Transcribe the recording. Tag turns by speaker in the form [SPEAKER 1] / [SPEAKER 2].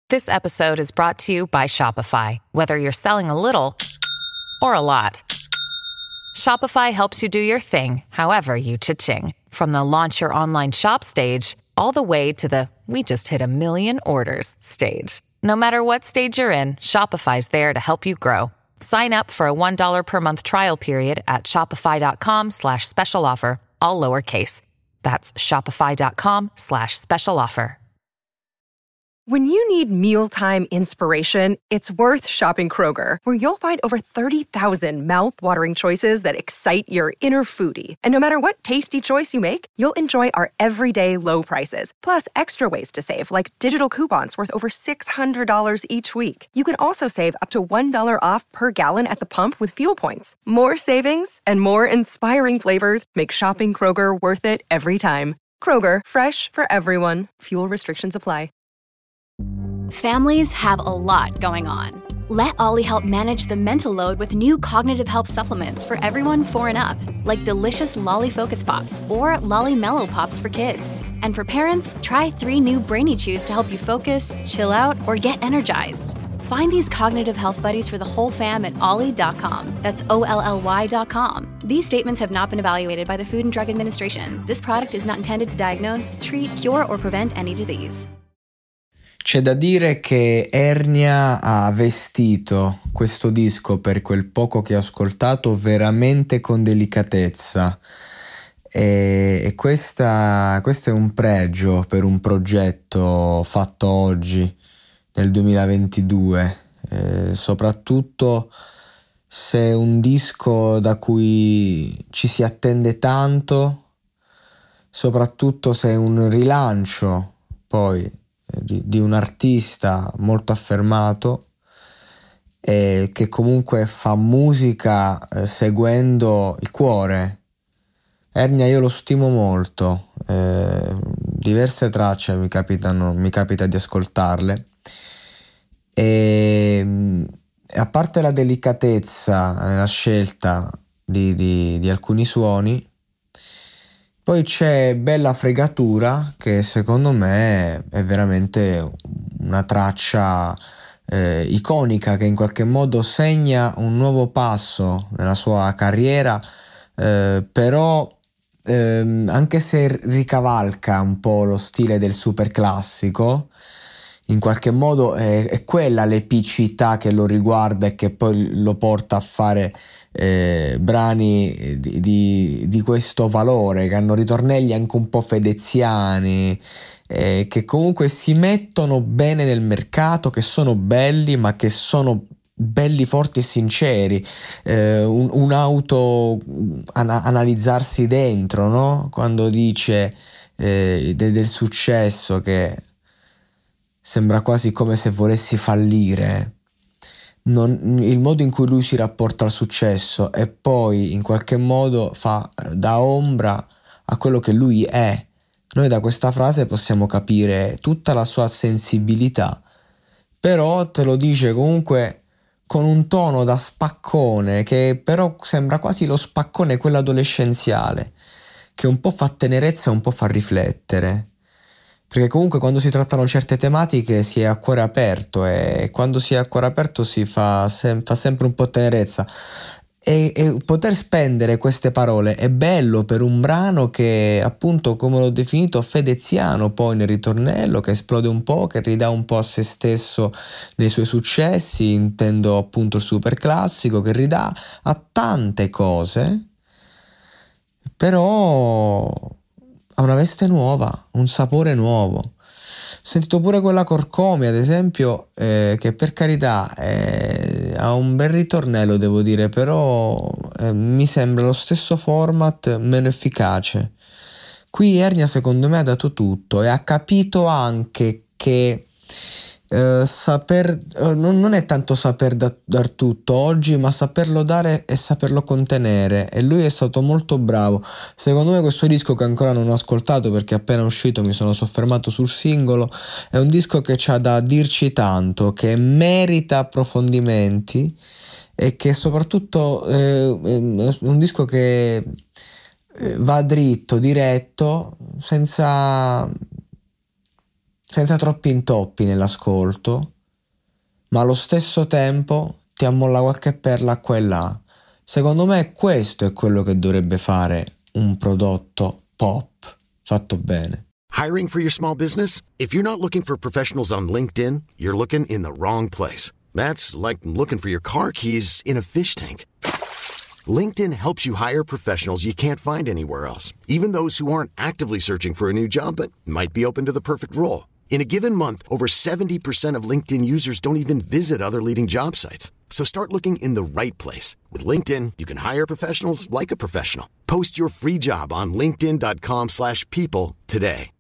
[SPEAKER 1] This episode is brought to you by Shopify. Whether you're selling a little or a lot, Shopify helps you do your thing, however you cha-ching. From the launch your online shop stage, all the way to the we just hit 1 million orders stage. No matter what stage you're in, Shopify's there to help you grow. Sign up for a $1 per month trial period at shopify.com/special offer, all lowercase. That's shopify.com/special offer.
[SPEAKER 2] When you need mealtime inspiration, it's worth shopping Kroger, where you'll find over 30,000 mouth-watering choices that excite your inner foodie. And no matter what tasty choice you make, you'll enjoy our everyday low prices, plus extra ways to save, like digital coupons worth over $600 each week. You can also save up to $1 off per gallon at the pump with fuel points. More savings and more inspiring flavors make shopping Kroger worth it every time. Kroger, fresh for everyone. Fuel restrictions apply.
[SPEAKER 3] Families have a lot going on. Let Ollie help manage the mental load with new cognitive help supplements for everyone 4 and up, like delicious Lolly Focus Pops or Lolly Mellow Pops for kids. And for parents, try 3 new Brainy Chews to help you focus, chill out, or get energized. Find these cognitive health buddies for the whole fam at ollie.com. That's OLLY.com. These statements have not been evaluated by the Food and Drug Administration. This product is not intended to diagnose, treat, cure, or prevent any disease.
[SPEAKER 4] C'è da dire che Ernia ha vestito questo disco, per quel poco che ho ascoltato, veramente con delicatezza, e questo è un pregio per un progetto fatto oggi nel 2022, soprattutto se è un disco da cui ci si attende tanto, soprattutto se è un rilancio poi di un artista molto affermato e che comunque fa musica seguendo il cuore. Ernia io lo stimo molto, diverse tracce mi capita di ascoltarle, e a parte la delicatezza nella scelta di alcuni suoni, poi c'è bella fregatura, che secondo me è veramente una traccia iconica, che in qualche modo segna un nuovo passo nella sua carriera, però anche se ricavalca un po' lo stile del super classico, in qualche modo è quella l'epicità che lo riguarda e che poi lo porta a fare brani di questo valore, che hanno ritornelli anche un po' fedeziani, che comunque si mettono bene nel mercato, che sono belli, ma che sono belli, forti e sinceri, un auto analizzarsi dentro, no? Quando dice del successo che sembra quasi come se volessi fallire. Il modo in cui lui si rapporta al successo e poi in qualche modo fa da ombra a quello che lui è. Noi da questa frase possiamo capire tutta la sua sensibilità, però te lo dice comunque con un tono da spaccone, che però sembra quasi lo spaccone quello adolescenziale, che un po' fa tenerezza e un po' fa riflettere. Perché comunque quando si trattano certe tematiche si è a cuore aperto, e quando si è a cuore aperto si fa sempre un po' tenerezza, e poter spendere queste parole è bello per un brano che, appunto, come l'ho definito, fedeziano poi nel ritornello, che esplode un po', che ridà un po' a se stesso nei suoi successi, intendo appunto il super classico, che ridà a tante cose, però ha una veste nuova, un sapore nuovo. Ho sentito pure quella Corcomi, ad esempio, che per carità ha un bel ritornello, devo dire, però mi sembra lo stesso format, meno efficace. Qui Ernia secondo me ha dato tutto e ha capito anche che non è tanto saper dar tutto oggi, ma saperlo dare e saperlo contenere, e lui è stato molto bravo. Secondo me questo disco, che ancora non ho ascoltato perché appena uscito mi sono soffermato sul singolo, è un disco che c'ha da dirci tanto, che merita approfondimenti, e che soprattutto è un disco che va dritto, diretto, senza senza troppi intoppi nell'ascolto, ma allo stesso tempo ti ammolla qualche perla qua e là. Secondo me questo è quello che dovrebbe fare un prodotto pop fatto bene.
[SPEAKER 5] Hiring for your small business? If you're not looking for professionals on LinkedIn, you're looking in the wrong place. That's like looking for your car keys in a fish tank. LinkedIn helps you hire professionals you can't find anywhere else, even those who aren't actively searching for a new job but might be open to the perfect role. In a given month, over 70% of LinkedIn users don't even visit other leading job sites. So start looking in the right place. With LinkedIn, you can hire professionals like a professional. Post your free job on linkedin.com/people today.